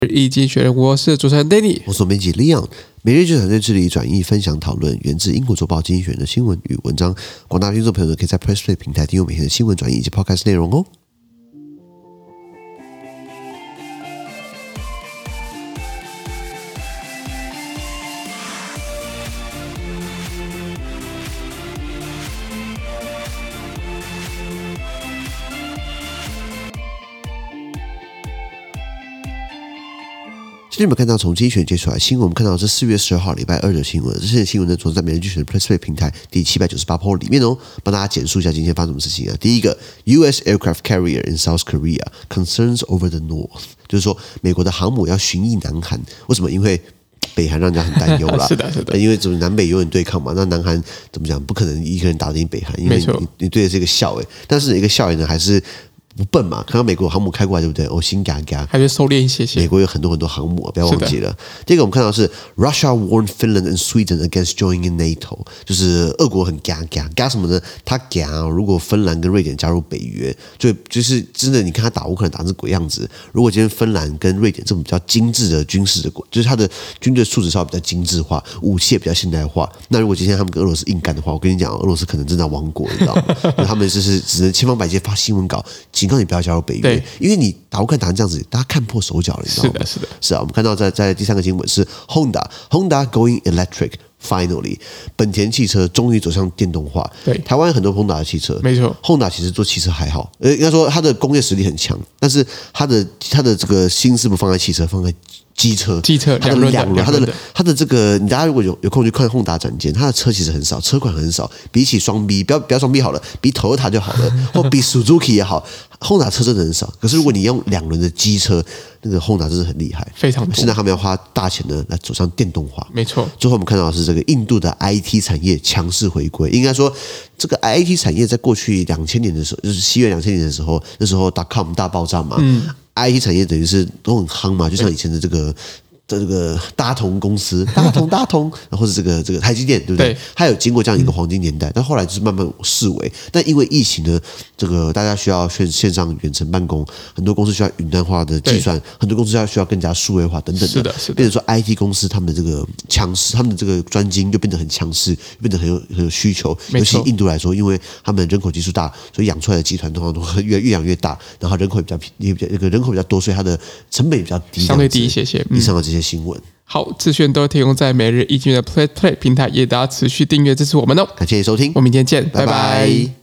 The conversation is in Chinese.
易經學人，我是主持人 Danny， 我是總編輯 Leon。每日就團隊致力轉譯、分享、討論源自英國週報經濟學人的新聞與文章。廣大聽眾朋友可以在 PressPlay 平台訂閱每天的新聞轉譯以及 Podcast 內容哦。今天我們看到從經濟學人接出來的新聞，我們看到這4月12號禮拜二的新聞。這些新聞呢，總是在每日經濟學人 PressPlay 平台第798 po 裡面哦，幫大家簡述一下今天發生什麼事情啊。第一個 ，U.S. aircraft carrier in South Korea concerns over the North， 就是說美國的航母要巡弋南韓，為什麼？因為北韓讓人家很擔憂啦。 是的，是的， 因為怎麼南北永遠對抗嘛，那南韓怎麼講？不可能一個人打得贏北韓，因為你對的是一個校誒，但是一個校園呢還是。不笨嘛？看到美國航母開過來，對不對？哦，心嘎嘎，還是收斂一些些。 美國有很多航母，不要忘記了。第一個我們看到是 Russia warned Finland and Sweden against joining in NATO， 就是俄國很嘎什麼呢？他嘎，如果芬蘭跟瑞典加入北約，就是真的，你看他打烏克蘭打成這鬼樣子。如果今天芬蘭跟瑞典這種比較精緻的軍事的國，就是他的軍隊素質稍微比較精緻化，武器也比較現代化。那如果今天他們跟俄羅斯硬幹的話，我跟你講，俄羅斯可能真的亡國，你知道嗎？他們就是只能千方百計發新聞稿。警告你不要加入北約，因為你打烏克蘭打成這樣子，大家看破手腳了，你知道嗎？是啊，我們看到在第三個新聞是 Honda going electric finally， 本田汽車終於走向電動化。對，台灣有很多 Honda 的汽車，沒錯 ，Honda 其實做汽車還好，應該說它的工業實力很強，但是它的這個心思不放在汽車，放在機車，它的兩輪，它的這個，你大家如果有空去看Honda展間，它的車其實很少，車款很少，比起雙 B， 不要雙 B 好了，比 Toyota 就好了，或比 Suzuki 也好，Honda 車真的很少。可是如果你用兩輪的機車，那個 Honda 真的很厲害，非常多。現在他們要花大錢呢來走上電動化，沒錯。最後我們看到的是這個印度的 IT 產業強勢回歸，應該說這個 IT 產業在過去2000年的時候，就是7月2000年的時候，那時候 .com 大爆炸嘛。IT 產業等於是都很夯嘛，就像以前的這個大同公司，大同，然後是這個台積電，對不對？它有經過這樣一個黃金年代，但後來就是慢慢式微。但因為疫情呢，這個大家需要線上遠程辦公，很多公司需要雲端化的計算，很多公司需要更加數位化等等的，是的。變成說 IT 公司他們的這個強勢，他們的這個專精又變得很強勢，變得很有需求。尤其印度來說，因為他們人口基數大，所以養出來的集團通常都越養越大，然後人口比較多，所以它的成本也比較低，相对低一些。以上的这些新聞， 好，資訊都提供在每日易經的 PressPlay 平台，也大家持續訂閱支持我們哦。 感謝收聽， 我們明天見，拜拜。